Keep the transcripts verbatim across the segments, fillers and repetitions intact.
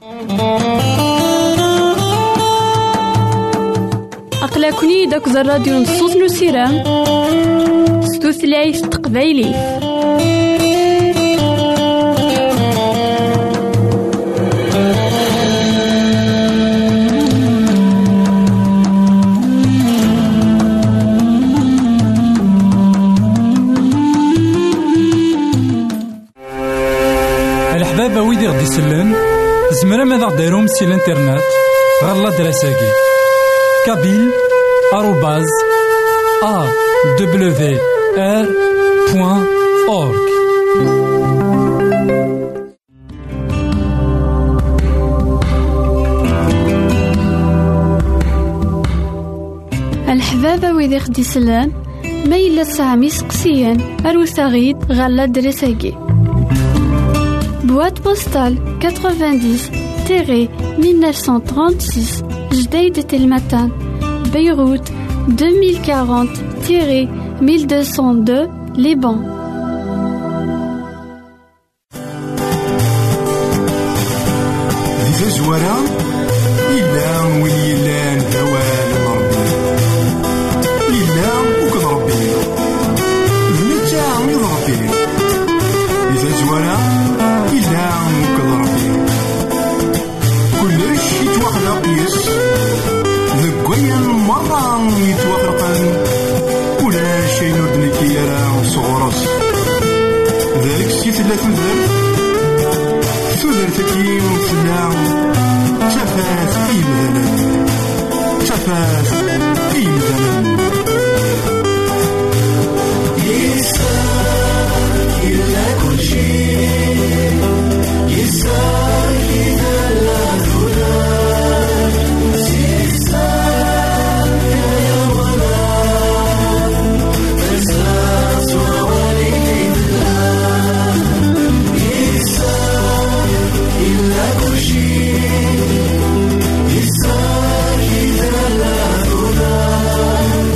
أقلكني داك الراديو نصوص نسيران ستوثلايف تقبايلي. الحبابة ويدي غدي يسلم زمرا ماذا غديرهم سي الانترنت غالا دراساكي كابيل آروباز أ دبليو آر بوان أورك. الحبابة ويدي غدي يسلم ما إلا سامي سقسيان أروساغيد غالا دراساكي boîte postale quatre-vingt-dix mille neuf cent trente-six Jdeïd Telmatan Beyrouth deux mille quarante mille deux cent deux Liban. Di tazwara illan win yellan hawal Rabbi illan uked Rabbi netta mi Rabbi di tazwara illan uked Rabbi kullec yitwaxlaq yes deg wayen merra yitwafaqen ulac ayen ur d-nekki ara sɣur-s ذلك si tella tudert tudert-agi tella tafat i yimdanen tafat i yimdanen يسار إلا كل شيء يسار إذا لا تدار يسار يا ولا تساس ووليد الله يسار إلا كل شيء يسار إذا لا تدار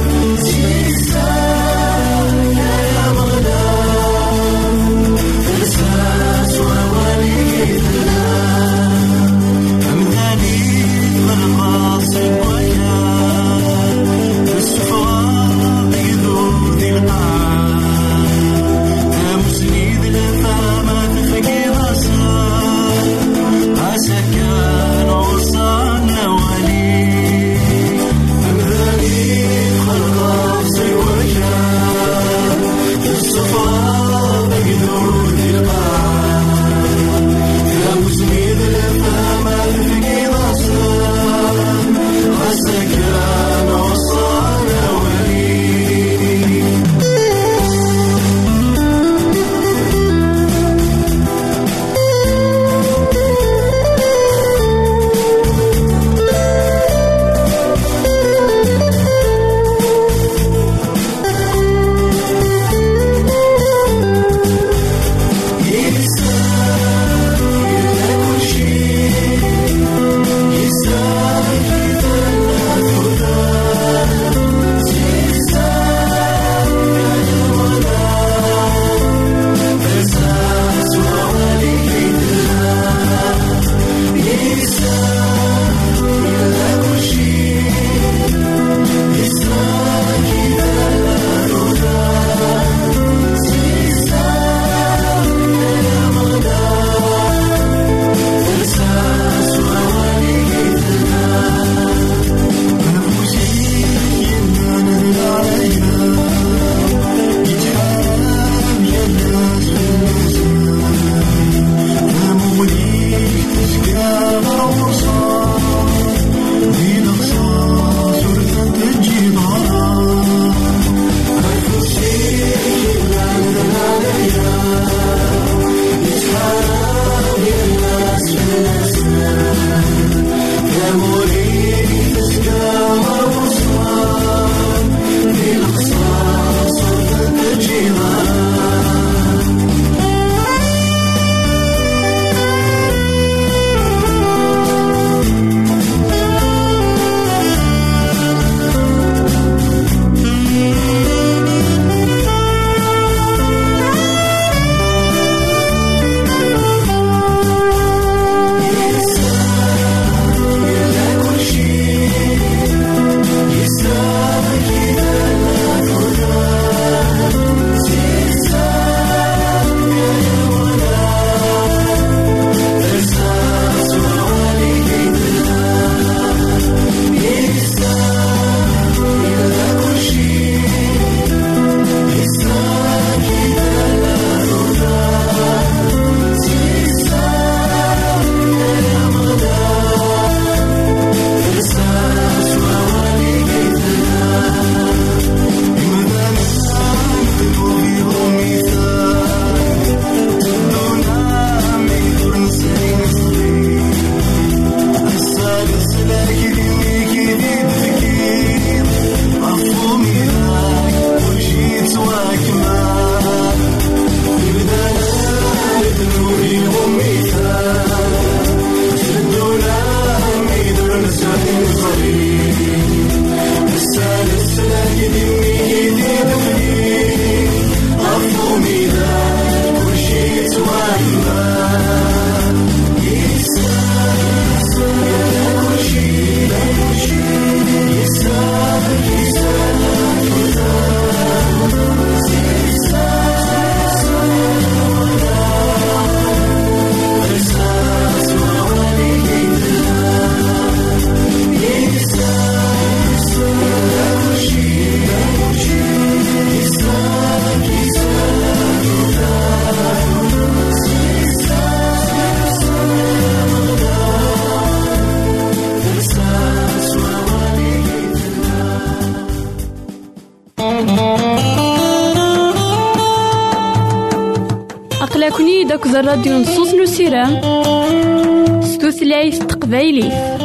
داك الراديو نصوص نسيرام ستوثلايف تقبايلي.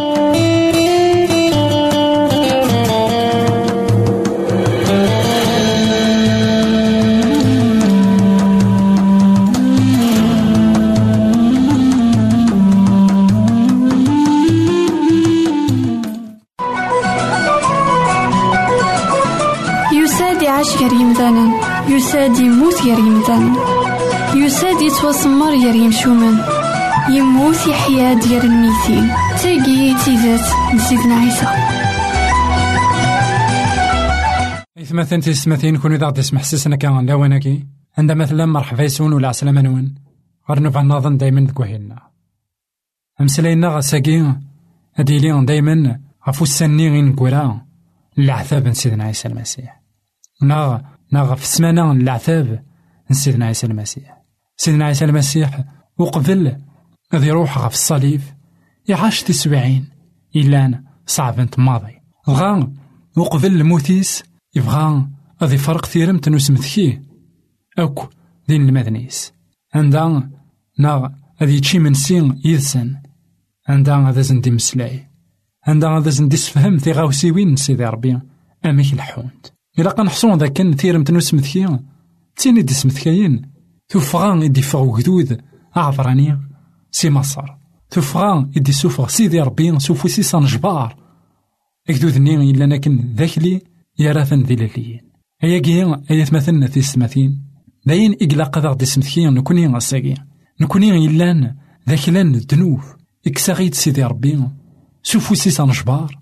يعيش يمثالا يساد يموت يا يمثالا يساد يتوسمر يا يمشومان يموت يحيا ديال الميتين تاقي تيزات لسيدنا عيسى. إثما ثنتي سمثين كوني ضغط اسم حسسنا كان لا وناكي عندما مثلا مرحبا يسون ولا عسلامة نون غرنو فالنظن دايما ذكوهيلنا أمسلينا غساقين أديلين دايما غفو السني غين قرا العذاب سيدنا عيسى المسيح ناغ ناغ في السمانة العذاب سيدنا عيسى المسيح. سيدنا عيسى المسيح وقبل غادي يروح غف الصليب يعاش تسبعين إلا صعب ماضي بغا وقبل الموتيس يبغى غادي فرق ثيرمت نسمثكيه أوك دين المدنيس عندها ناغ غادي يتشي من سين يدسن عندها غادا زندي مسلاي عندها غادا زندي سفهم ثي غاوسيوين سيدي ربي أميك الحوند إلا قنحصون ذاك ثيرمت نسمثكيه تيني دي سمثكاين توفغان يدي فغو جدود أعفراني سي مصر توفغان يدي سوفغ سيدي ربي سوفو سيسان جبار اكدود نين إلا ناكن ذاكلي يراثن ذي لليين هيا كيين هيا تمثلنا في السماثين داين إقلاق ذا دي سمثكين نكوني غساقين نكوني إلان ذاكلان الدنوف إكساغيد سيدي ربي سوفو سيسان جبار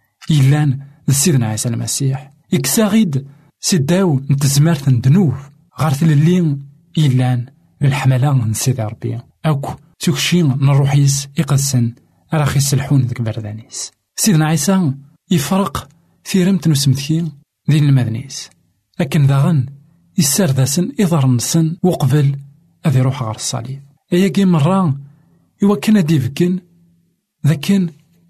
إلان سيدنا عيسى المسيح إكساغيد سيداو نتزمارت ندنوف غارت للين إلان الحملة من سيدي ربي أوكو تكشين نروحيس إقسن راخي السلحون ذك بردانيس. سيدنا عيسى يفرق في رمت نسمثين دين المدنيس لكن ذاغن يسردسن إضار نسن وقبل أذي روح غار الصليب أيا كي مرة يوكنا ديفكن ذاكن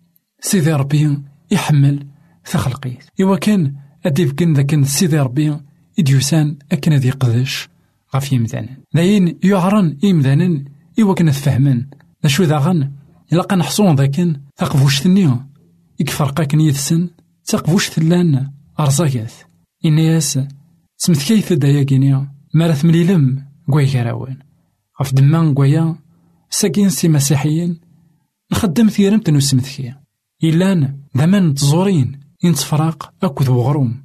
سيدي ربي يحمل ثخلقيت يوكن أديفكن ذاكن سيدي ربي إديوسان أكن ذي قدش غف يمذانن داين يعرن يمذانن إوا كنا تفهمن ذا شو ذا غن إلا قنحصون ذاكن ثقفوش ثنيا يكفرقاك نيثسن تقفوش ثلان أرزاكاث إنياس سمث كيث دايا كينيا مارث مليلم قوي كراوان غف دمان قويا ساكين سي مسيحيين نخدم ثيرمت نسمث كيا إلان ذمان تزورين ينتفراق أكو ذو غروم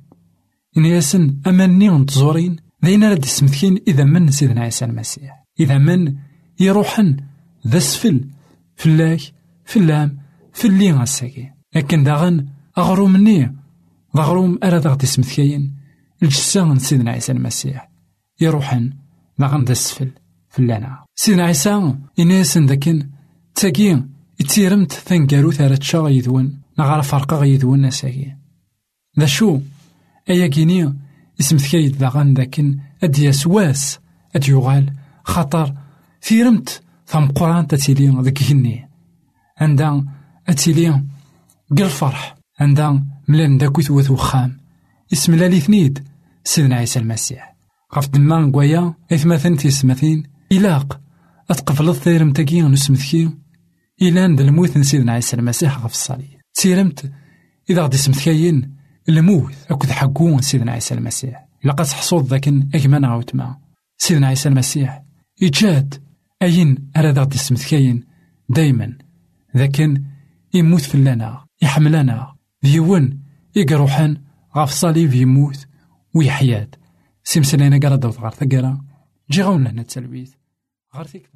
إنياسن أماني نتزورين ذينا رد سمثكين إذا من سيدنا عيسى المسيح إذا من يروحن ذا سفل فلاك فلام فلي غساكي لكن داغن أغروم مني ضغروم أرى ضغط سمثكين الجسان سيدنا عيسى المسيح يروحن داغن ذا سفل فلانا سيدنا عيسى إنيسن ذاكن تاكين يتيرمت ثنقارو ثارت شاغ يذون نغار فرقا يذون نساكي ذا شو أيا كيني اسم ثكايد ذاغن ذاكن أدي سواس أدي يغال خطر ثيرمت ثم قران تتيلين ذكيني عندها أتيلين قل فرح عندها ملان داكوث وثو خام اسم لالي ثنيد سيدنا عيسى المسيح غف دمان قويا إثما ثنتي سمثين إلاق أتقفل الثيرم تاكين نسم ثكي إلان ذا الموت سيدنا عيسى المسيح غف الصليب تيرمت إذا غدي اسم ثكاين الموت أكد حقون سيدنا عيسى المسيح لقد حصود ذاكن أجمانا عوتما سيدنا عيسى المسيح إجاد أين أراد غدي اسم ثكاين دايما ذاكن يموت في اللنا يحملنا ديون يقروحن غاف صليب يموت ويحياد سيمسلينا قرا دوت غار ثقرا جي غاونا هنا التلويث غار ثيك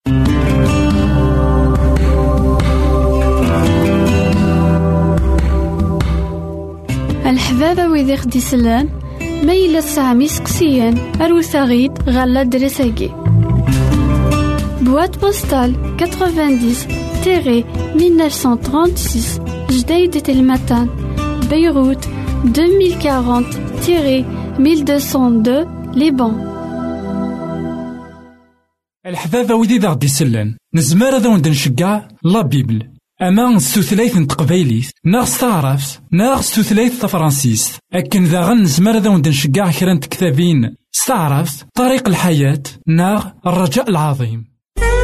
الحبابة ويدي خدي سلان ما إلا سامي سقسيان أروثاغيد غالا درساكي بوات بوستال تسعين تيري mille neuf cent trente-six جديد تلمتان بيروت deux mille quarante tiret mille deux cent deux ليبان. الحبابة ويدي ذا غدي سلان نزمار ذا وندن شقع لا بيبل أما ستوثلايث نتقبايليث ناغ تعرف ناغ ستوثلايث تفرانسيس أكن ذا غن نزمار ذا وندن شقع كرانت كتابين استعرفت طريق الحياة ناغ الرجاء العظيم.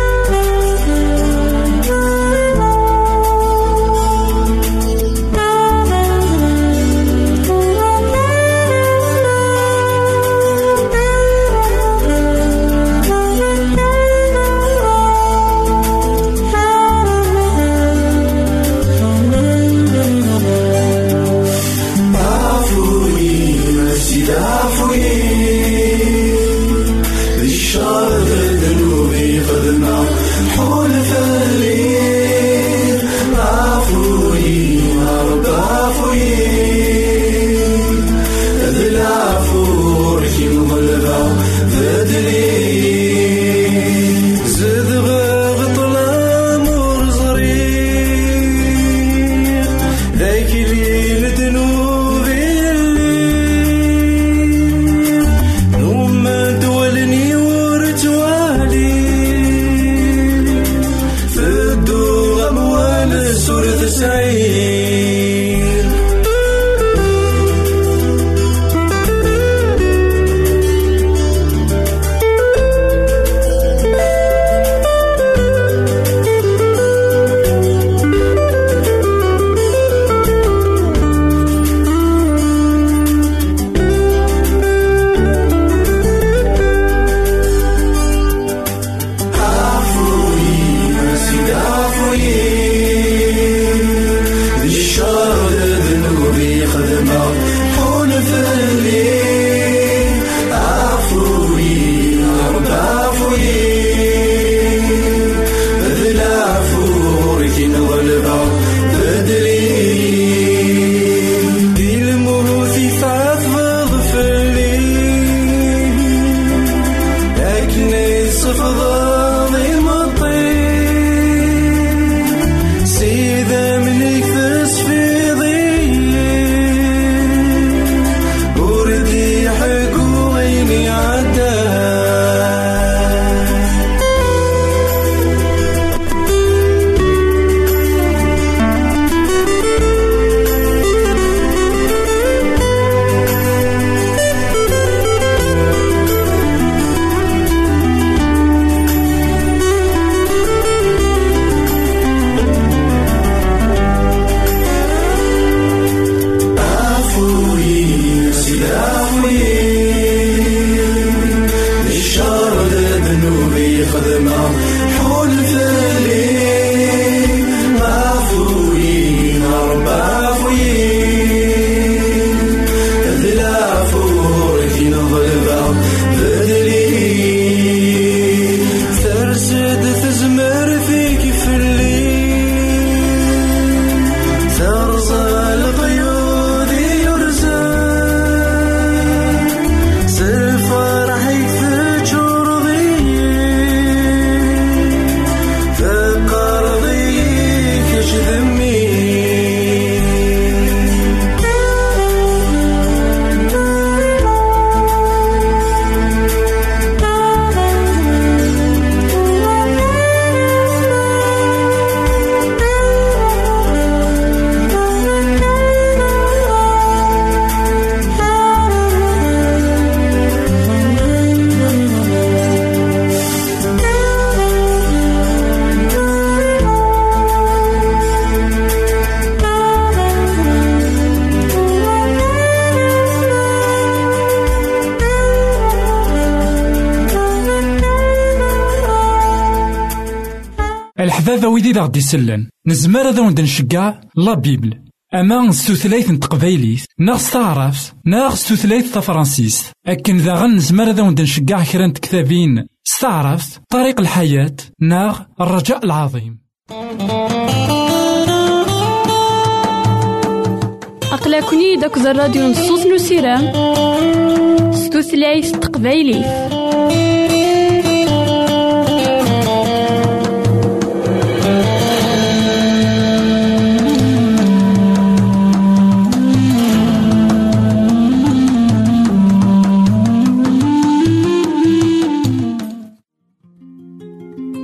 الحبابة ويدي دا غدي سلن نزمر هذا وند نشجع لا بيبل أما ستوثلايث نتقبايليث ناغ ستعرف ناغ ستوثلايث تفرانسيس أكن ذا غن نزمر هذا وند نشجع كران كتابين ستعرف طريق الحياة ناغ الرجاء العظيم. أقلكني داك الراديو نصوص نسيران ستوثلايث تقبايليث.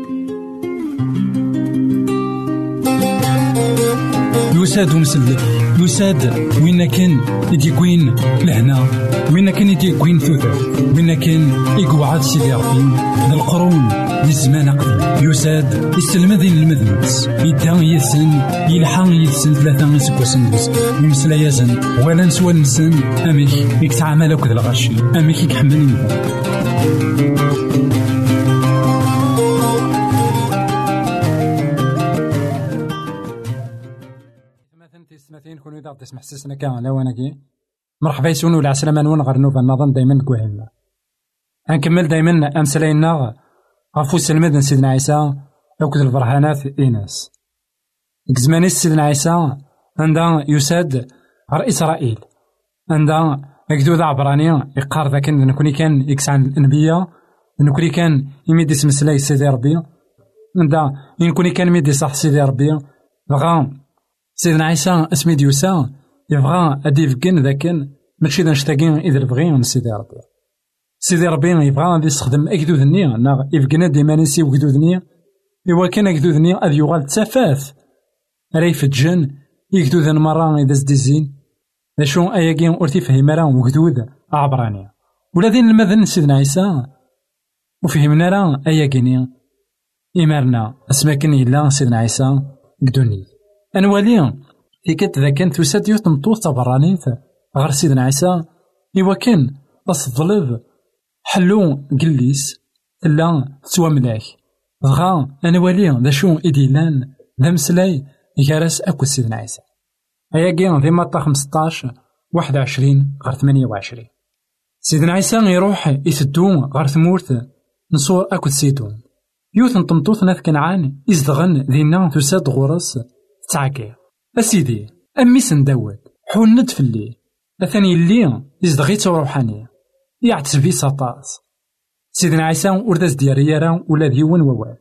يساد مسلك يساد وين كان يدي كوين لهنا، وين كان يدي كوين ثوثر، وين كان يقعد سيدي ربي للقرون للزمان قديم. يساد يسلم ذي المذنبس يدان يسن يلحق يسن ثلاثة يسكوسن يمسلا يزن ولا نسوى نسن أميك يكتعامل أكد الغشي أميك يكحمل مثلا كونوا إذا تسمح سسنا كان لا وانا كي مرحبا يسون ولا عسلامة نون غير نوفا نظن دايما كوهنا هنكمل دايما أمسلاينا غفو سلمد سيدنا عيسى أكد البرهانات إيناس كزماني سيدنا عيسى عندها يساد غير إسرائيل عندها أكدود عبرانية يقار ذاك نكوني كان يكس عن الأنبياء نكوني كان يميدي سمسلاي سيدي ربي عندها نكوني كان يميدي صح سيدي ربي بغا سيدنا عيسى اسمي ديوسا يبغى أدي فكين ذاكن ماشي ذا نشتاقين إذا بغي من سيدي ربي سيدي ربي يبغى غادي يستخدم أكدود النية نا يفكنا ديما نسي وكدود النية إوا كان أكدود النية أذ يغال تسافاث ريف الجن يكدود مرة إذا زديزين شو أياكين أرتي فهم راه وكدود عبرانية ولذين المذن سيدنا عيسى وفهمنا راه أياكيني إمارنا أسماكن إلا سيدنا عيسى قدوني أنوالي تيكت ذا كانت وساد يوت مطوط تبرانيت غير سيدنا عيسى إوا كان بس الظلف حلو قليس لا تسوى ملاك بغا أنوالي ذا شو إديلان ذا مسلاي يجارس أكو سيدنا عيسى هيا كي في مطا خمسطاش واحد وعشرين غير ثمانية وعشرين سيدنا عيسى يروح يسدو غير ثمورت نصور أكو سيدون يوت نطمطوط ناث كنعان يزدغن ذينا تساد غرس تعاكي أسيدي أمي سنداود حوند في الليل أثاني اللي يزدغيت روحانية يعتسبي سطاس سيدنا عيسى ورداز دياريارا ولا ديون ووال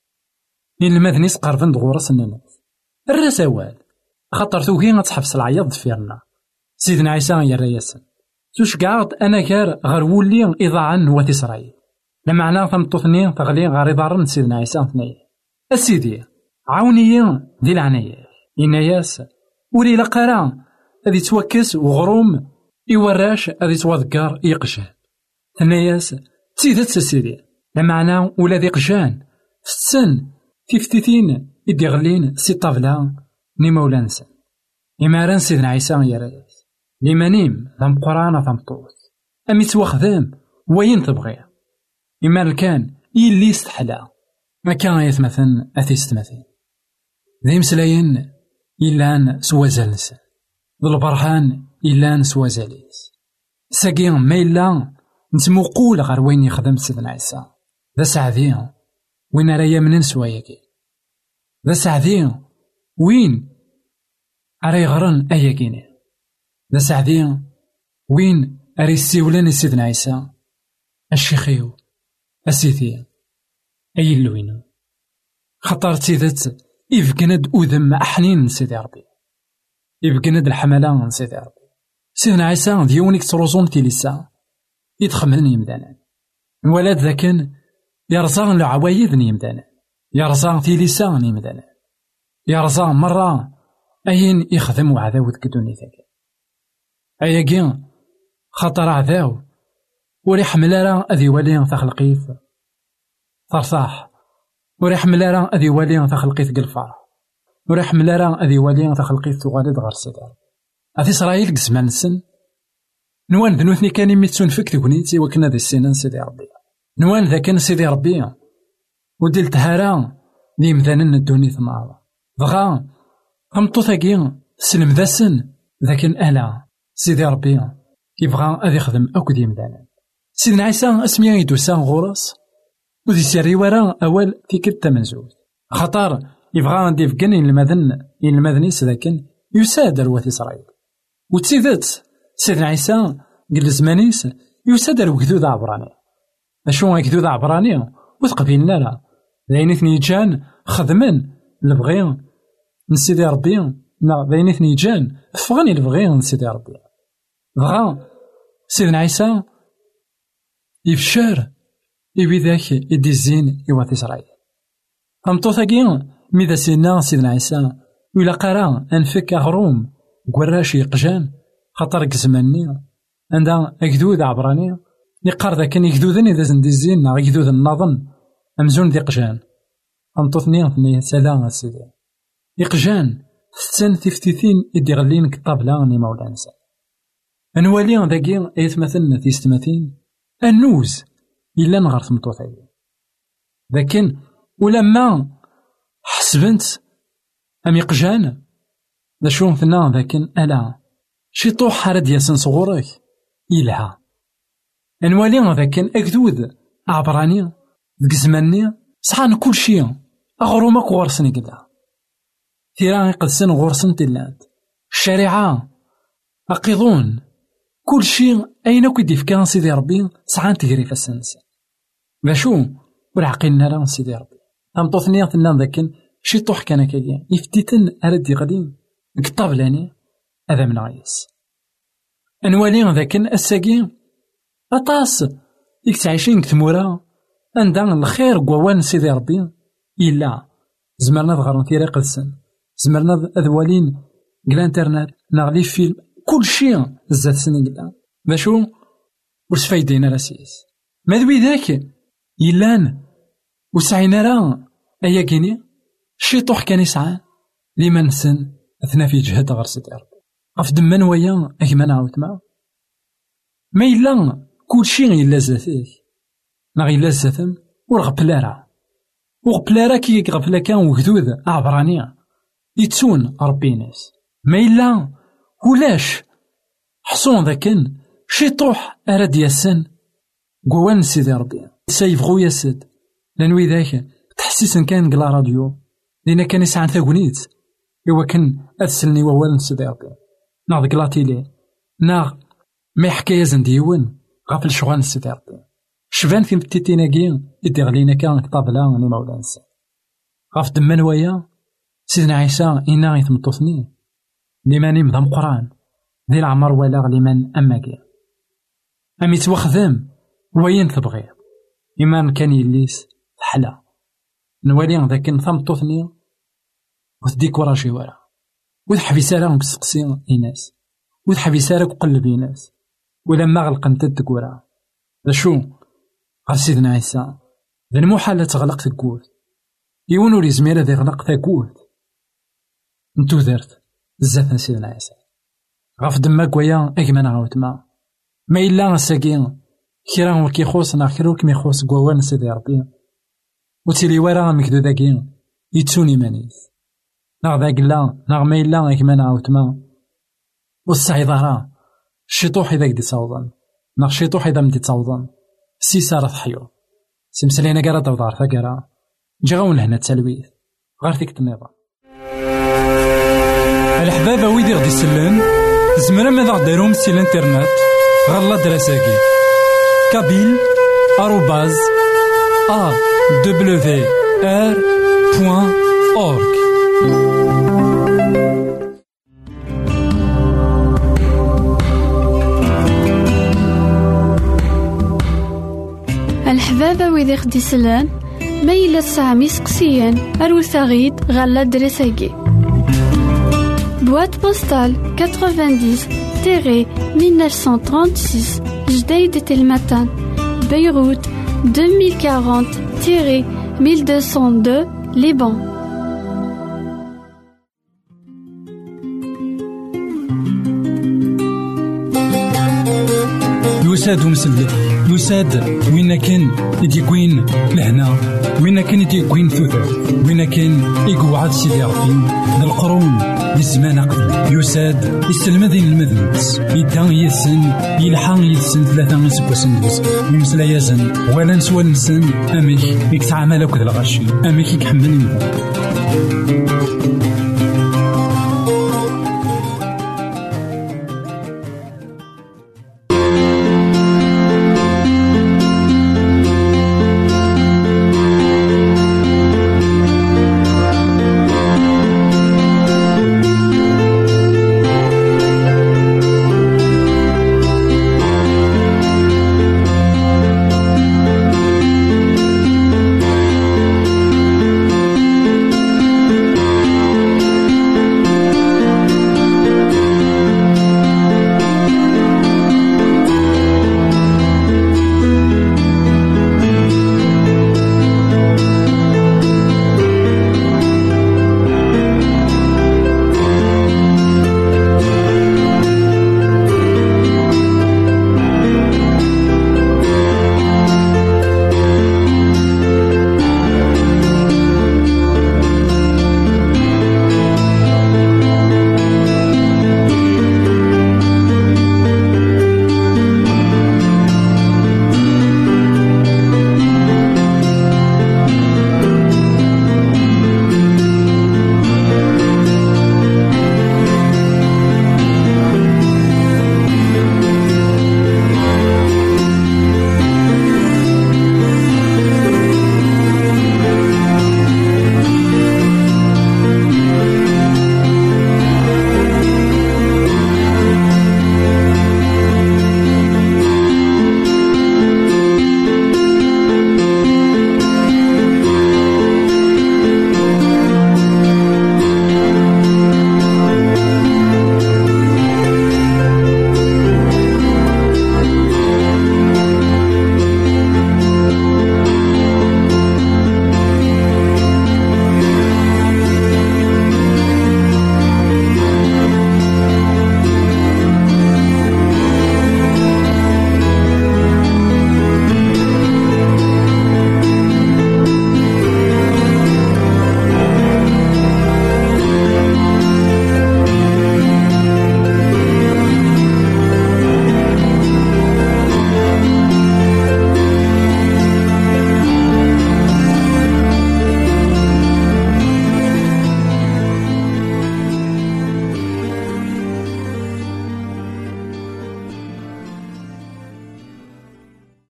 إن المذني سقرفن دغورس الناس الرسوال خاطر توكي غتحبس العياط دفيرنا سيدنا عيسى يرى ياسن توش قاعد أنا كار غير ولي إضاعا نوات إسرائيل لما عنا ثمطوثني تغلي غير إضارن سيدنا عيسى ثنين أسيدي عاوني دي العناية إناياس ولي لقرا هذي توكس وغروم إوراش هذي توذكر يقشان ثناياس تسيدت سيدي لما عنا ولا ذي قشان في السن تفتيتين إدي غلين سي طابلا ني مولانسا إماران سيدنا عيسى يراياس لمانيم ثم قرانا ثم طوس أمي توخذام وين تبغي إما كان يلي استحلا ما كان يتمثل أثيست مثل ذي مسلاين إلان سوازالنس ذو البرهان إلان سوازاليس ساقين ما إلا نتموقول غير وين يخدم سيدنا عيسى ذا سعدين وين رايا من نسواياكي ذا سعدين وين أري غرن أياكيني ذا سعدين وين أري السيولان سيدنا عيسى الشيخيو أسيثي أي اللوين خطر تيدت إفقند أذم أحنين سيدي ربي إفقند الحملان سيدي ربي سيدنا عيسى ديونيك تروزون تيليسا يتخملن يمدانا الولاد ذاكن يرزان لعوايد يمدانا يرزان تيليسا يمدانا يرزان مرة أين يخدم عذاو تكدوني ذاك أياكين خطر عذاو وريح ملارا أذي والي تخلقيف فرصاح وريح ملارا أذي والي تخلقيف قلفار وريح ملارا أذي والي تخلقيف تغالد غير سيدار أذي إسرائيل قزمان السن نوان ذنوثني كان يميتسون فيك تكونيتي وكنا ذي السنان سيدي ربي نوان ذا كان سيدي ربي وديل تهارا لي مذانن الدوني ثمار بغا أمطو ثاقيا سلم ذا سن ذاك ألا سيدي ربي يبغى أذي يخدم أكد يمدانا سيدنا عيسى اسمي يدوسا غورس وذي سيري ورا أول تيكت تمنزوز خطر يبغى نديف كن المذن المذنيس ذاكن يساد روات إسرائيل وتسيدت سيدنا عيسى قل زمانيس يساد الوكدود عبراني أشو كدود عبراني وتقبيلنا لا ذاينيثني جان خدمن لبغيان من سيدي ربي نا ذاينيثني جان فغني لبغيان سيدي ربي بغا سيدنا عيسى يفشار يبي ذاك يدي الزين يوات إسرائيل أمطو ثاقيا ميدا سيدنا سيدنا عيسى ولا قرا أنفك أغروم قراش يقجان خاطر كزماني عندها أكدود عبراني يقار ذا كان يكدودن إذا زندي الزين نا يكدود النظن أمزون ذي قجان أنطوثني ثني سلام سيدي يقجان ستان تفتيثين إدي غلين كطابلا ني مولانا سا أنوالي ذاكي أيتمثلنا في ستماثين النوز إلا نغار ثمطوثي لكن ولما حسبنت أم يقجان ذا شون ثنا ذاكن ألا شي طوح حرد ياسن صغورك إلها أنوالي ذاكن أكدود عبراني ذك زماني صحان كل شي أغرومك غورسني كدا ثيران يقدسن غورسن تلات الشريعة أقيضون كل شي أين كدي في كان سيدي ربي صحان تجري في السنس باشو والعقلنا لا سيدي ربي أم طوثني ثنا ذاكن شي طوح كان كاين يفتتن أردي غدين كطابلاني هذا من عيس أنوالي ذاكن الساقين أطاس يكتعيشين كتمورا عندنا الخير قوان سيدي ربي إلا زمرنا ظهرنا في ريق السن زمرنا أذوالين قلا انترنت نغلي فيلم كل شيء زاد سنين قلا باشو وش فايدين راسيس ماذوي ذاك يلان وسعينا راه أيا كيني شي طوح كان يسعى لما نسن أثناء في جهة غير سيدي ربي أفدم من ويا أكما نعاود معه ما إلا كل شيء إلا زاتيه نغي إلا زاتم ورغبلارا وغبلارا كي غفلا كان وجدود عبرانية يتسون ربي ناس ما إلا ولاش حصون ذاكن شي طوح أراد ياسن قوان سيدي ربي سيفغو ياسد لانوي ذاك تحسيسن كان قلا راديو لأن كان يسعى ثاقونيت إوا كان أتسلني ووالن سيدي ربي ناض قلاتيلي ناغ ما حكاية زنديون غافل شغال سيدي ربي شبان في متيتيناكي يدي غلينا كان طابلا ني مولانا سا غاف دمان ويا سيدنا عيسى إنا يتمطوثني لمن يمضم قران ذي العمر ولا غليمان أماكي أم يتوخذم وين تبغي إما كان يليس حلا نوالي ذاك نثمطوثني وتديك ورا شي ورا وتحبيسارا وكسقسي إناس وتحبيسارا وقلب إناس ولما غلقنت الدكورا ذا شو قال سيدنا عيسى ذا المحال تغلق تقول يونو لي زميرة ذي غلق تقول نتو درت بزاف سيدنا عيسى غاف دماك ويا أكما نعاود ما ما إلا ساكين كيرا وكيخوص ناخرو كمي يخوص قوان سيدي ربي وتيلي ورا مكدو ذاكين يتسوني مانيس ناغ ذاك لا ناغ ما إلا أكما نعاود ما والسعي ظهرا الشيطوح إذا كدي تصوضن ناغ الشيطوح إذا مدي تصوضن سي سارة حيو سمسلينا قرا دوضار ثقرا جاون لهنا التلويث غير فيك النظام الحبابة ويدي غدي سلان زمرا ماذا داروم سي الانترنت غالا دراساكي كابيل آروباز أ دبليو آر بوان أورك. الحبابة ويدي خدي سلان ميلا سامي سقسيان أروثاغيد غالا دراساكي boîte postale quatre-vingt-dix mille neuf cent trente-six Jdeïd Telmatan Beyrouth deux mille quarante mille deux cent deux Liban. يساد ومسلك يساد وين كان يديكوين لهنا وين كان يديكوين ثوثر وين كان يقعد سيدي ربي للقرون للزمان قدم يساد يستلمذين المذنبس يدان يسن يلحان يسن ثلاثة من سبوسن دوس يمسلا يزن ولا نسوى نسن أميك يكتعامل أكد الغشي أميك يكحمل